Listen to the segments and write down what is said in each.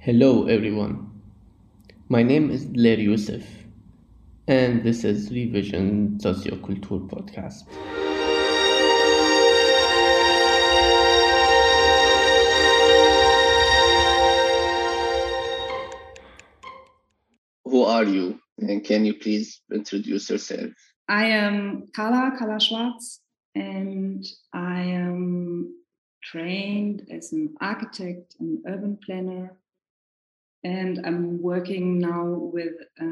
Hello everyone, my name is Ler Youssef and this is Revision Socioculture Podcast. Who are you and can you please introduce yourself? I am Carla Schwarz, and I am trained as an architect and urban planner. And I'm working now with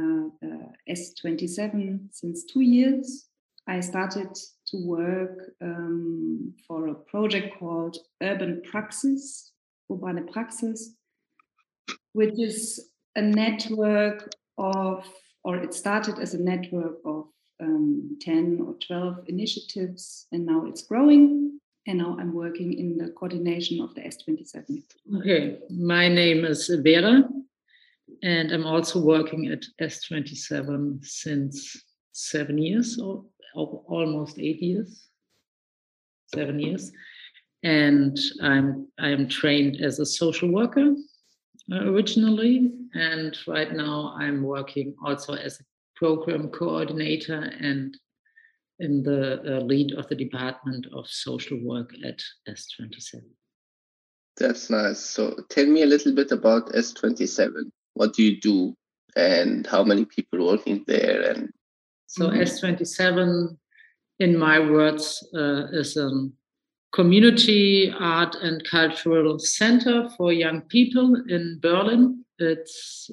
S27 since 2 years. I started to work for a project called Urban Praxis, Urbane Praxis, which is a network of, or it started as a network of 10 or 12 initiatives, and now it's growing. And now I'm working in the coordination of the S27. Okay, my name is Vera, and I'm also working at S27 since 7 years, or almost 8 years, 7 years. And I'm trained as a social worker originally, and right now I'm working also as a program coordinator and in the lead of the Department of Social Work at S27. That's nice. So tell me a little bit about S27. What do you do and how many people working there? And so S27, in my words, is a community art and cultural center for young people in Berlin. It's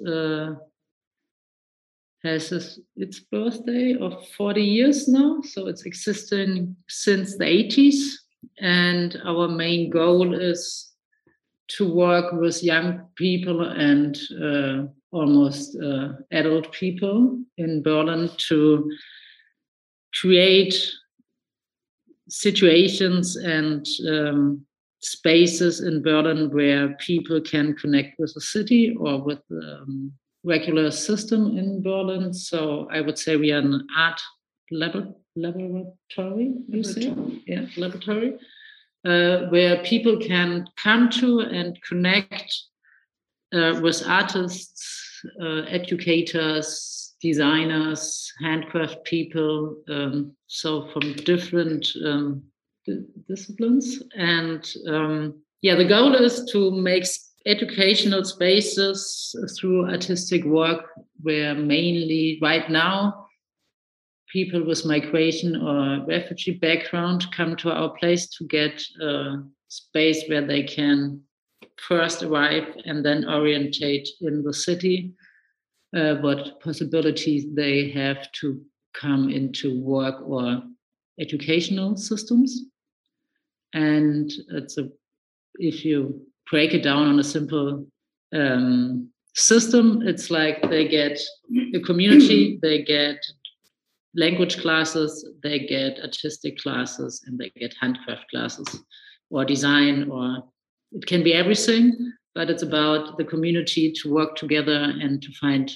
has its birthday of 40 years now, so it's existing since the 80s. And our main goal is to work with young people and almost adult people in Berlin to create situations and spaces in Berlin where people can connect with the city or with regular system in Berlin. So I would say we are an art laboratory, you say? Yeah, laboratory, where people can come to and connect with artists, educators, designers, handcraft people, so from different disciplines. And the goal is to make educational spaces through artistic work where mainly right now people with migration or refugee background come to our place to get a space where they can first arrive and then orientate in the city, what possibilities they have to come into work or educational systems. And if you break it down on a simple system, it's like they get a community, they get language classes, they get artistic classes, and they get handcraft classes or design, or it can be everything, but it's about the community to work together and to find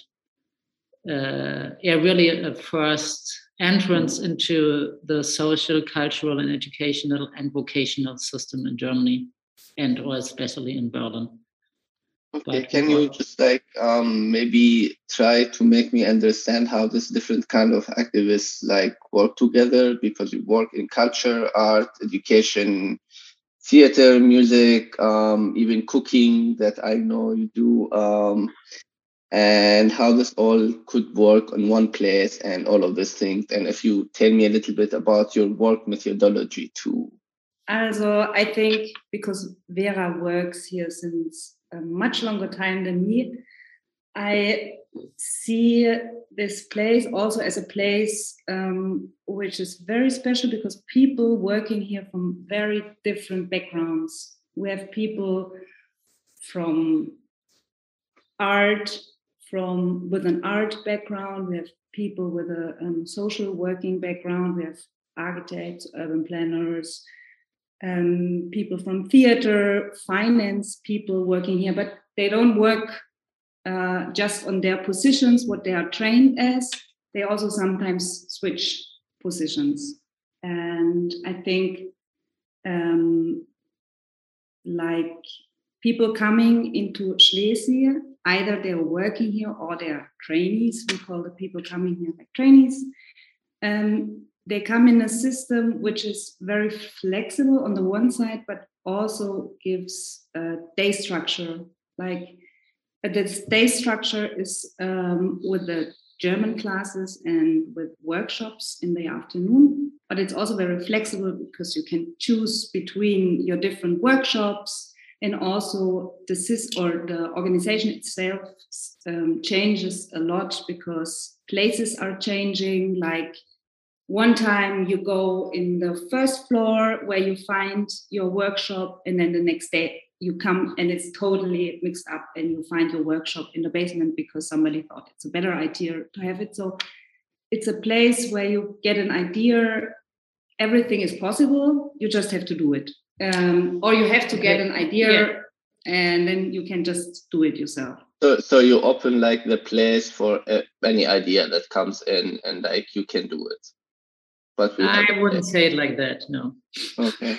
really a first entrance into the social, cultural, and educational and vocational system in Germany, and or especially in Berlin. Okay, but can you just maybe try to make me understand how this different kind of activists work together, because you work in culture, art, education, theater, music, even cooking that I know you do, and how this all could work on one place and all of these things. And if you tell me a little bit about your work methodology too. Also, I think because Vera works here since a much longer time than me, I see this place also as a place which is very special because people working here from very different backgrounds. We have people from art, with an art background. We have people with a social working background. We have architects, urban planners, people from theater, finance people working here, but they don't work just on their positions, what they are trained as. They also sometimes switch positions. And I think people coming into Schlesien, either they're working here or they're trainees. We call the people coming here like trainees. They come in a system which is very flexible on the one side, but also gives a day structure. Like this day structure is with the German classes and with workshops in the afternoon, but it's also very flexible because you can choose between your different workshops, and also the organization itself changes a lot because places are changing. Like one time you go in the first floor where you find your workshop, and then the next day you come and it's totally mixed up and you find your workshop in the basement because somebody thought it's a better idea to have it. So it's a place where you get an idea. Everything is possible. You just have to do it. Or you have to get an idea and then you can just do it yourself. So you open like the place for any idea that comes in and like you can do it. But I wouldn't say it like that, no. Okay.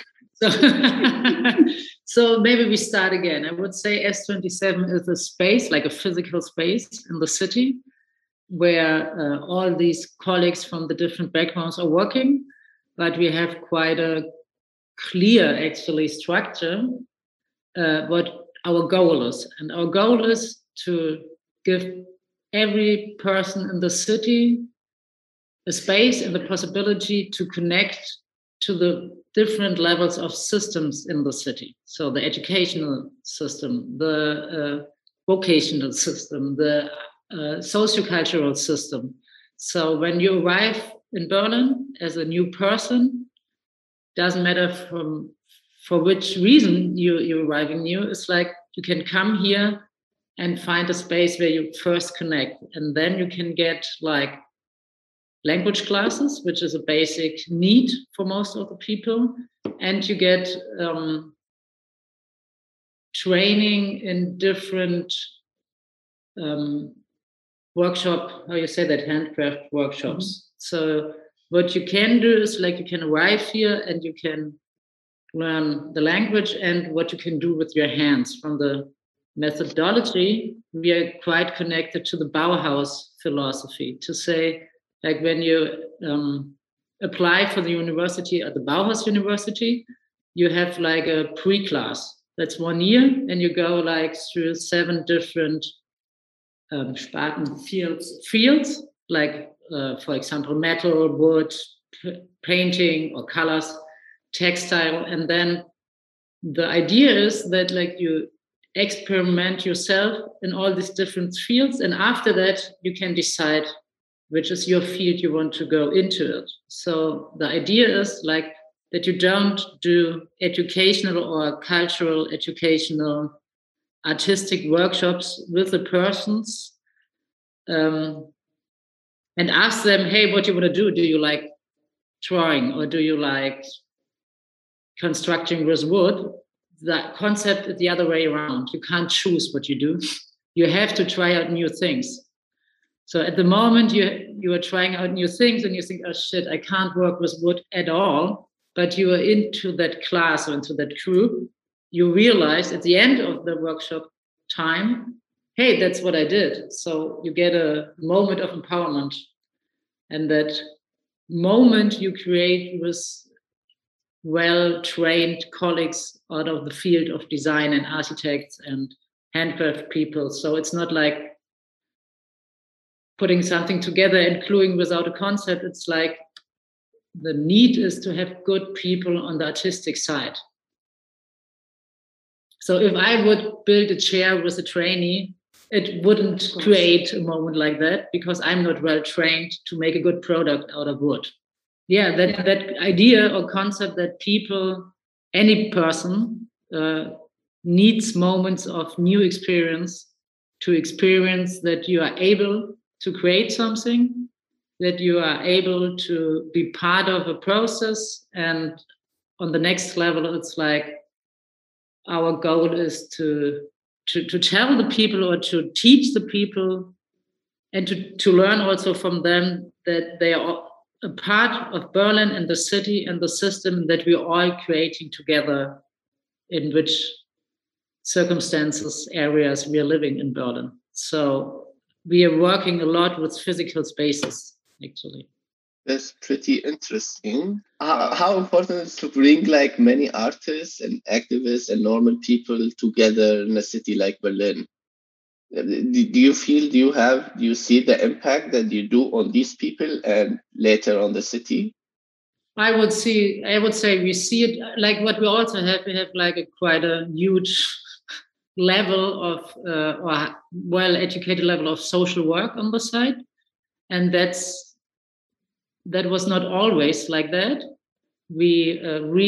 So maybe we start again. I would say S27 is a space, like a physical space in the city where all these colleagues from the different backgrounds are working, but we have quite a clear actually structure what our goal is. And our goal is to give every person in the city a space and the possibility to connect to the different levels of systems in the city. So the educational system, the vocational system, the sociocultural system. So when you arrive in Berlin as a new person, doesn't matter for which reason you're arriving new, it's like you can come here and find a space where you first connect, and then you can get like language classes, which is a basic need for most of the people, and you get training in different workshop, how you say that, handcraft workshops. Mm-hmm. So what you can do is like you can arrive here and you can learn the language and what you can do with your hands. From the methodology, we are quite connected to the Bauhaus philosophy, to say, like when you apply for the university at the Bauhaus University, you have like a pre-class. That's 1 year, and you go like through 7 different fields, like for example, metal, wood, painting or colors, textile. And then the idea is that like you experiment yourself in all these different fields, and after that you can decide which is your field you want to go into it. So the idea is like that you don't do educational or cultural, educational, artistic workshops with the persons and ask them, hey, what do you want to do? Do you like drawing or do you like constructing with wood? The concept is the other way around. You can't choose what you do. You have to try out new things. So at the moment you are trying out new things and you think, oh shit, I can't work with wood at all, but you are into that class or into that group, you realize at the end of the workshop time, hey, that's what I did. So you get a moment of empowerment, and that moment you create with well-trained colleagues out of the field of design and architects and handcraft people. So it's not like putting something together and gluing without a concept. It's like the need is to have good people on the artistic side. So if I would build a chair with a trainee, it wouldn't create a moment like that because I'm not well trained to make a good product out of wood. Yeah, that idea or concept that people, any person needs moments of new experience to experience that you are able to create something, that you are able to be part of a process. And on the next level, it's like our goal is to tell the people or to teach the people and to learn also from them that they are a part of Berlin and the city and the system that we're all creating together, in which circumstances, areas we are living in Berlin. So we are working a lot with physical spaces, actually. That's pretty interesting. How important is to bring like many artists and activists and normal people together in a city like Berlin? Do you feel, do you see the impact that you do on these people and later on the city? I would say we see it like what we also have. We have like quite a huge level of or well-educated level of social work on the side, and that was not always like that. We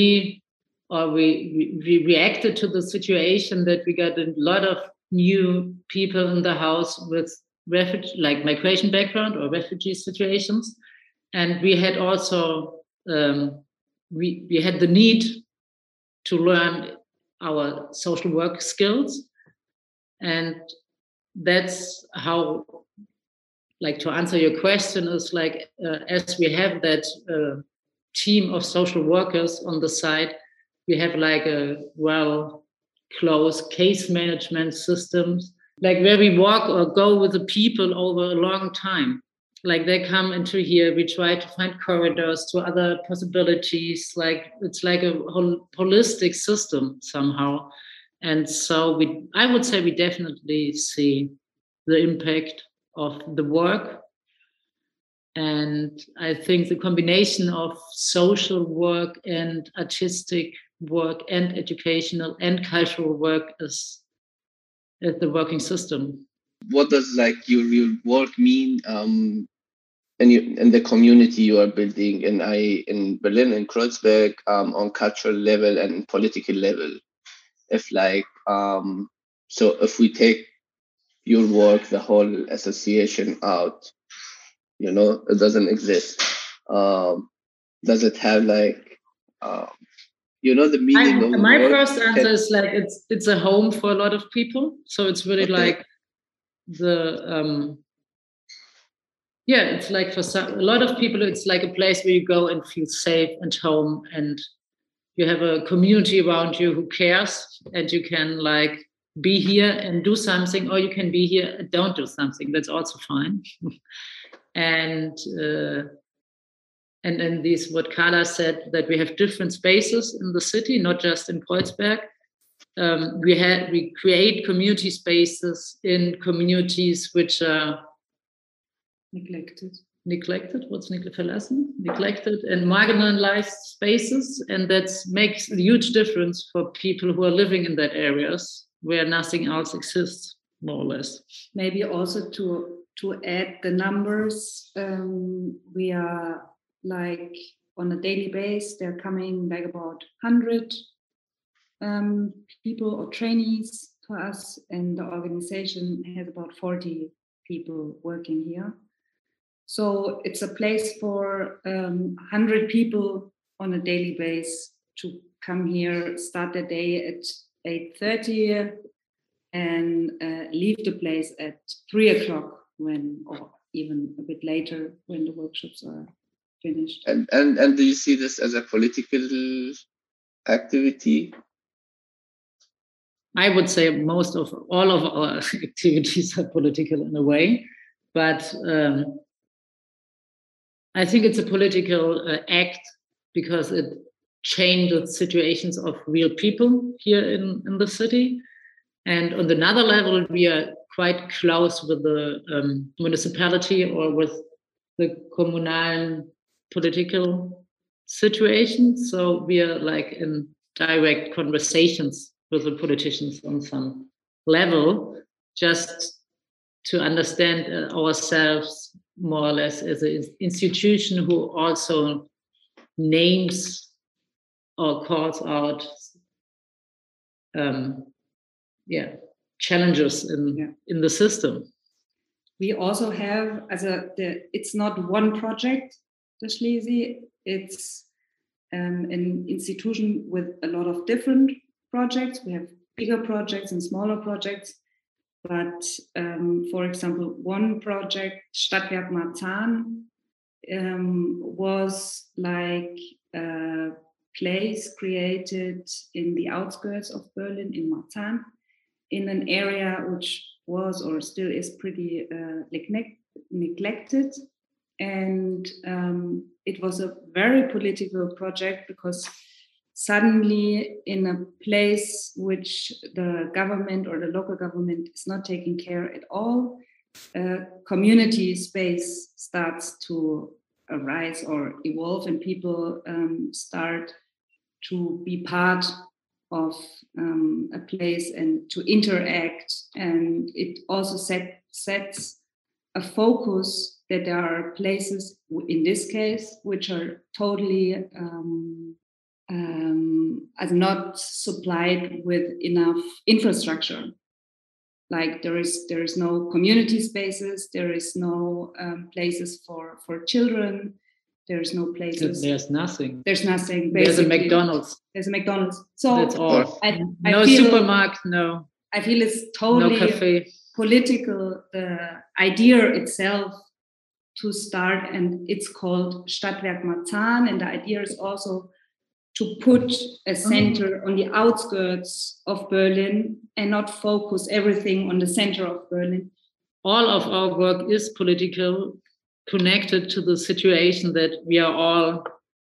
reacted to the situation that we got a lot of new people in the house with migration background or refugee situations, and we had also we had the need to learn our social work skills, and that's how, like, to answer your question, is like as we have that team of social workers on the side, we have like a close case management systems, like where we walk or go with the people over a long time. Like they come into here, we try to find corridors to other possibilities. Like it's like a holistic system somehow. And so I would say we definitely see the impact of the work. And I think the combination of social work and artistic work and educational and cultural work is the working system. What does like your work mean in the community you are building in Berlin and Kreuzberg, on cultural level and political level? If like so if we take your work, the whole association out, it doesn't exist. Does it have like the meaning of my work? first answer is like it's a home for a lot of people. So it's really like the it's like for a lot of people, it's like a place where you go and feel safe and home, and you have a community around you who cares, and you can like be here and do something, or you can be here and don't do something. That's also fine. And then these, what Carla said, that we have different spaces in the city, not just in Kreuzberg. We create community spaces in communities which are neglected. What's verlassen? Neglected and marginalized spaces, and that makes a huge difference for people who are living in that areas where nothing else exists, more or less. Maybe also to add the numbers, we are like on a daily basis, they're coming like about 100 people or trainees to us, and the organization has about 40 people working here. So it's a place for 100 people on a daily basis to come here, start the day at 8:30 and leave the place at 3:00 or even a bit later when the workshops are finished. And do you see this as a political activity? I would say all of our activities are political in a way, but I think it's a political act because it changes situations of real people here in the city. And on another level, we are quite close with the municipality or with the communal political situation. So we are like in direct conversations with the politicians on some level, just to understand ourselves more or less as an institution who also names or calls out challenges in the system. We also have it's not one project, the Schlesi, it's an institution with a lot of different projects. We have bigger projects and smaller projects. But for example, one project, Stadtwerk Marzahn, was like a place created in the outskirts of Berlin in Marzahn. in an area which was or still is pretty neglected. And it was a very political project, because suddenly in a place which the government or the local government is not taking care at all, community space starts to arise or evolve, and people start to be part of a place and to interact. And it also sets a focus that there are places, in this case, which are totally not supplied with enough infrastructure. Like there is no community spaces, there is no places for children, there's no places. There's nothing. There's nothing. Basically. There's a McDonald's. There's a McDonald's. So that's all. No supermarket. No. I feel it's totally no cafe. Political. The idea itself to start, and it's called Stadtwerk Marzahn, and the idea is also to put a center on the outskirts of Berlin and not focus everything on the center of Berlin. All of our work is political, connected to the situation that we are all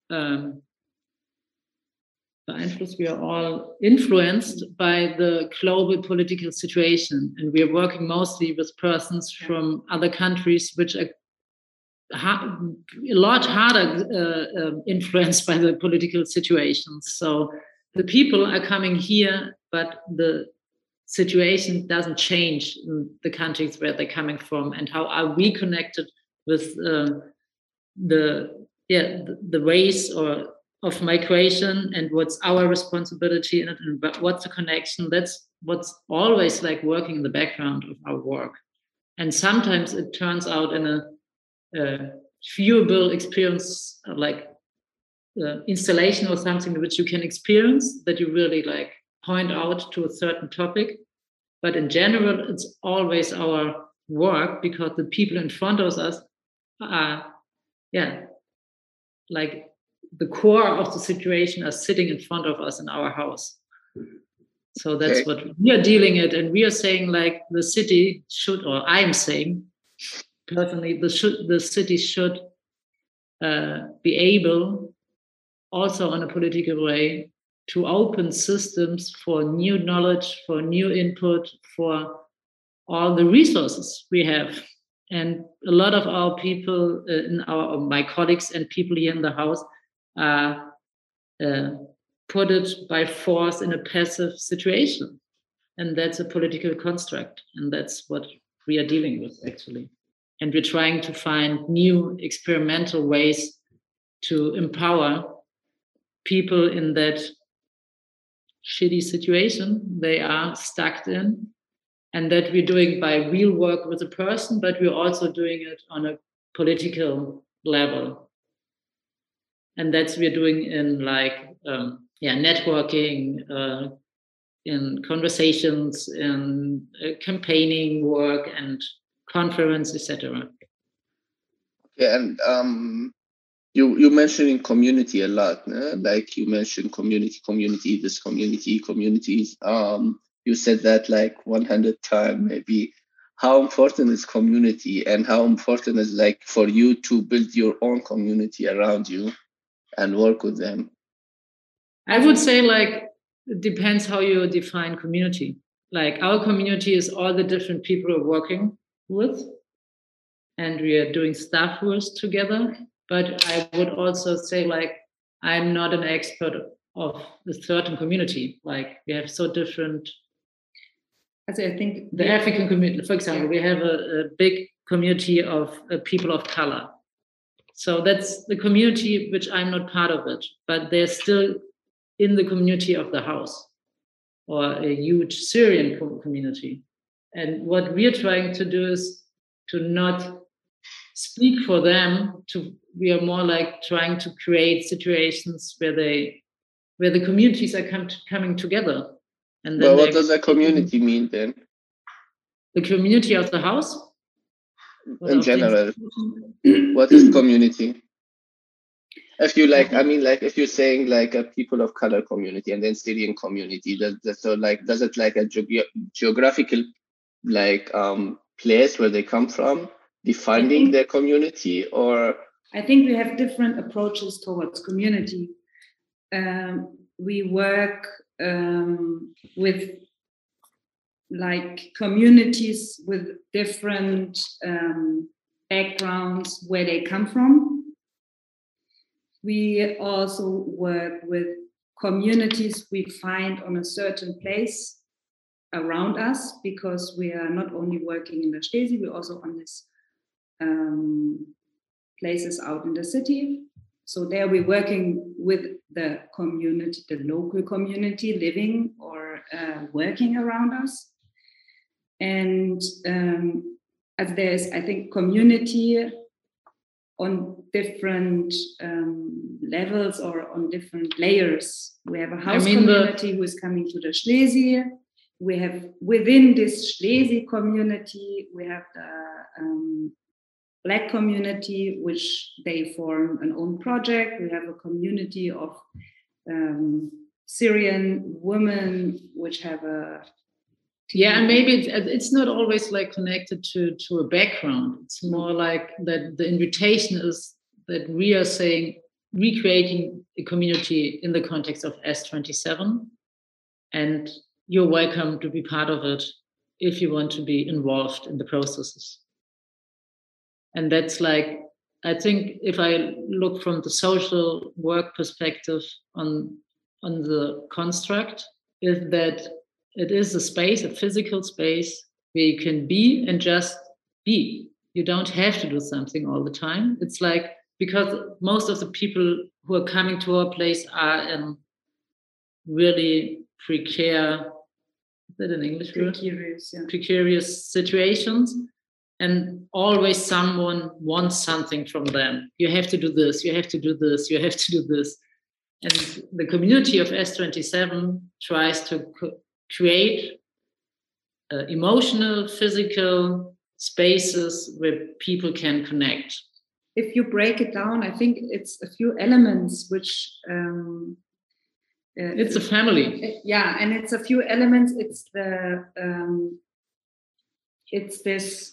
influenced by the global political situation. And we are working mostly with persons from other countries which are a lot harder influenced by the political situations. So the people are coming here, but the situation doesn't change in the countries where they're coming from. And how are we connected with the ways of migration, and what's our responsibility in it, and what's the connection? That's what's always like working in the background of our work. And sometimes it turns out in a viewable experience, like installation or something which you can experience, that you really like point out to a certain topic. But in general, it's always our work, because the people in front of us are, like the core of the situation are sitting in front of us in our house. So that's what we are dealing with. And we are saying like the city should, or I'm saying personally, the city should be able, also on a political way, to open systems for new knowledge, for new input, for all the resources we have. And a lot of our people, my colleagues and people here in the house, put it by force in a passive situation. And that's a political construct. And that's what we are dealing with, actually. And we're trying to find new experimental ways to empower people in that shitty situation they are stuck in. And that we're doing by real work with a person, but we're also doing it on a political level. And that's we're doing in like, networking, in conversations, in campaigning work and conference, etc. Okay, and you mentioning community a lot, like you mentioned community, this communities. You said that like 100 times maybe. How important is community, and how important is like for you to build your own community around you and work with them? I would say like it depends how you define community. Like our community is all the different people we're working with, and we are doing stuff with together. But I would also say like I'm not an expert of a certain community. Like we have so different. I think the African community, for example, we have a big community of people of color. So that's the community which I'm not part of it, but they're still in the community of the house, or a huge Syrian community. And what we're trying to do is to not speak for them. We are more like trying to create situations where the communities are coming together. And then what does a community mean then? The community of the house? In general, what is community? If you like, I mean, like if you're saying like a people of color community and then Syrian community, so like, does it like a geographical like place where they come from defining their community, or? I think we have different approaches towards community. We work with like communities with different backgrounds where they come from. We also work with communities we find on a certain place around us, because we are not only working in the Schlesi, we're also on this places out in the city. So there we're working with the community, the local community living or working around us. And as there's, I think, community on different levels or on different layers. We have a house community who is coming to the Schlesi. We have within this Schlesi community, we have the Black community, which they form an own project. We have a community of Syrian women, which have a and maybe it's not always like connected to a background. It's more like that the invitation is that we are saying recreating a community in the context of S27, and you're welcome to be part of it if you want to be involved in the processes. And that's like, I think if I look from the social work perspective on the construct, is that it is a space, a physical space where you can be and just be. You don't have to do something all the time. It's like, because most of the people who are coming to our place are in really precarious, is that an English word? Precarious situations. And always someone wants something from them. You have to do this, you have to do this, you have to do this. And the community of S27 tries to create emotional, physical spaces where people can connect. If you break it down, I think it's a few elements which... it's a family. Yeah, and it's a few elements. It's the... it's this...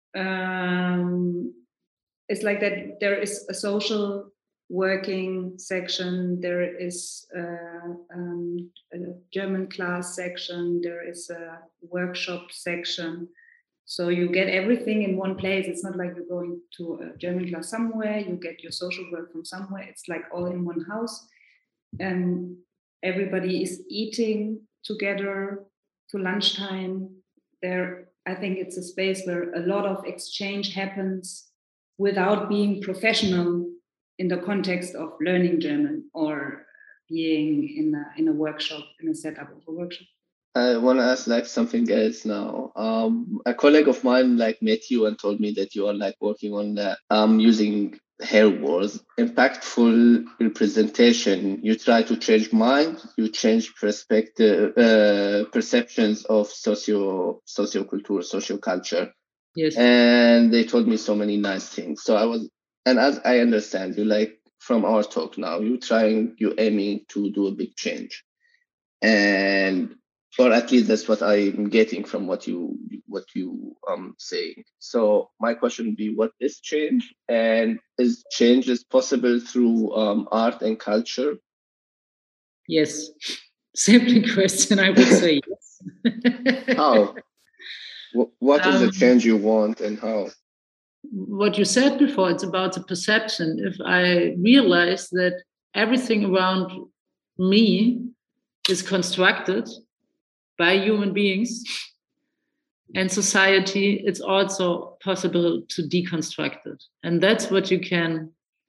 it's like that there is a social working section, there is a German class section, there is a workshop section. So you get everything in one place. It's not like you're going to a German class somewhere, you get your social work from somewhere. It's like all in one house. And everybody is eating together to lunchtime. There, I think it's a space where a lot of exchange happens without being professional in the context of learning German or being in a workshop, in a setup of a workshop. I want to ask like something else now. A colleague of mine like met you and told me that you are like working on that using hair wars, impactful representation. You try to change mind, you change perspective, perceptions of socioculture, social culture. Yes. And they told me so many nice things. So I was, and as I understand you, like from our talk now, you're aiming to do a big change, and or at least that's what I'm getting from what you saying. So my question would be, what is change, and is change possible through art and culture? Yes, simple question. I would say yes. How? What is the change you want, and how? What you said before, it's about the perception. If I realize that everything around me is constructed by human beings and society, it's also possible to deconstruct it. And that's what you can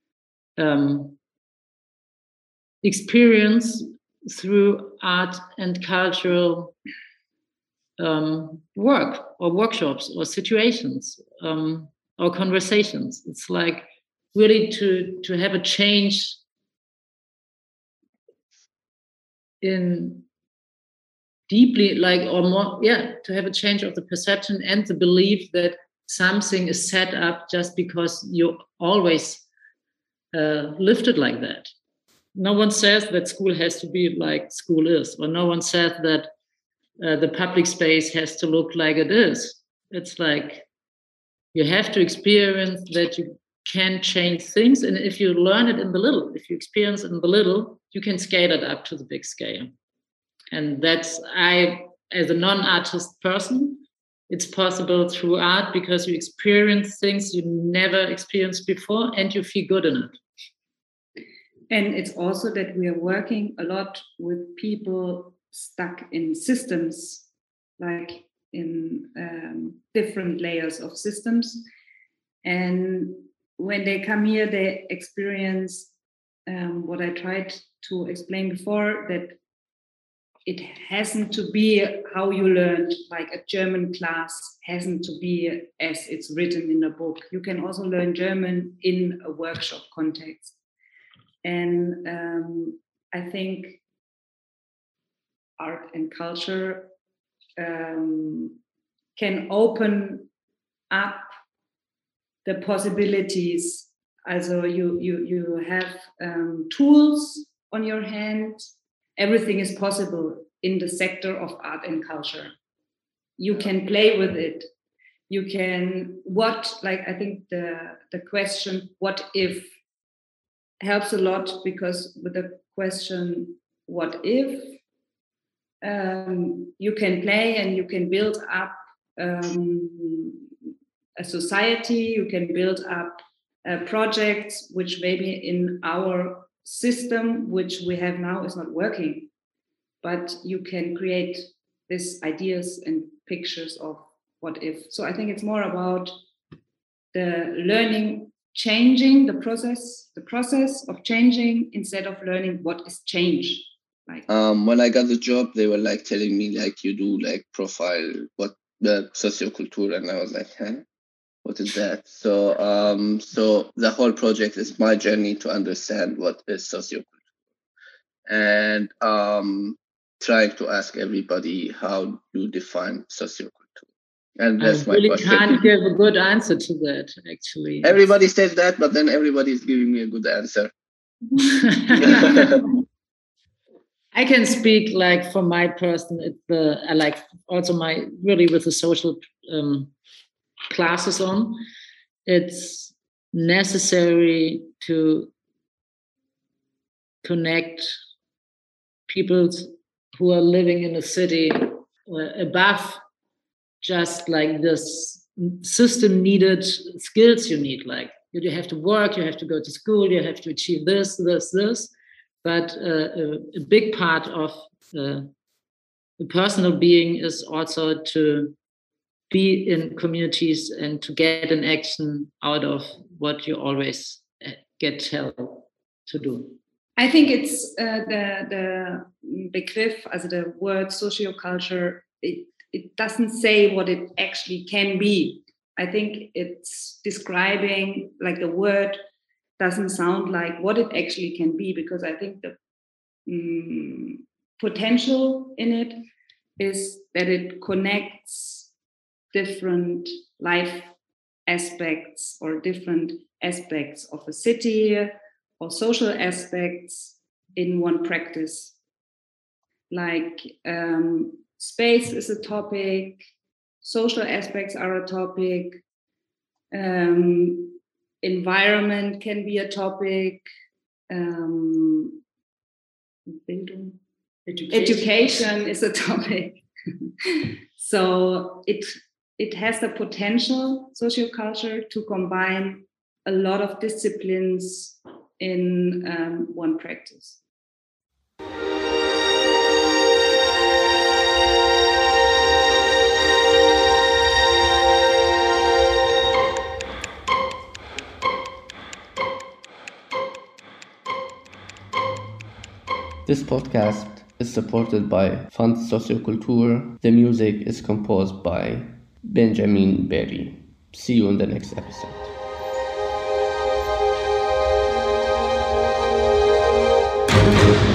experience through art and cultural work or workshops or situations or conversations. It's like really to have a change in deeply, like, or more, to have a change of the perception and the belief that something is set up just because you always lifted like that. No one says that school has to be like school is, or no one says that the public space has to look like it is. It's like you have to experience that you can change things. And if you learn it in the little, if you experience it in the little, you can scale it up to the big scale. And that's, as a non-artist person, it's possible through art because you experience things you never experienced before and you feel good in it. And it's also that we are working a lot with people stuck in systems, like in different layers of systems. And when they come here, they experience what I tried to explain before, that it hasn't to be how you learned, like a German class hasn't to be as it's written in a book. You can also learn German in a workshop context. And I think art and culture can open up the possibilities. Also you have tools on your hand. Everything is possible in the sector of art and culture. You can play with it. You can, I think the question, what if, helps a lot, because with the question, what if, you can play and you can build up a society, you can build up projects which maybe in our system, which we have now, is not working. But you can create these ideas and pictures of what if. So I think it's more about the learning, changing the process of changing, instead of learning what is change. Like when I got the job, they were like telling me like, you do like profile what the socioculture, and I was like, huh? What is that? So so the whole project is my journey to understand what is socioculture, and trying to ask everybody how you define socioculture. And that's my question. I really can't give a good answer to that, actually. Everybody says that, but then everybody is giving me a good answer. I can speak like for my person. I like also my really with the social classes on. It's necessary to connect people who are living in a city above just like this system needed skills you need. Like you have to work, you have to go to school, you have to achieve this. But a big part of the personal being is also to be in communities and to get an action out of what you always get told to do. I think it's the Begriff, also the word socioculture, it doesn't say what it actually can be. I think it's describing, like the word doesn't sound like what it actually can be, because I think the potential in it is that it connects different life aspects or different aspects of a city or social aspects in one practice. Like space is a topic, social aspects are a topic, environment can be a topic, education is a topic. So it has the potential, socioculture, to combine a lot of disciplines in one practice. This podcast is supported by Fund Socioculture. The music is composed by Benjamin Berry. See you in the next episode.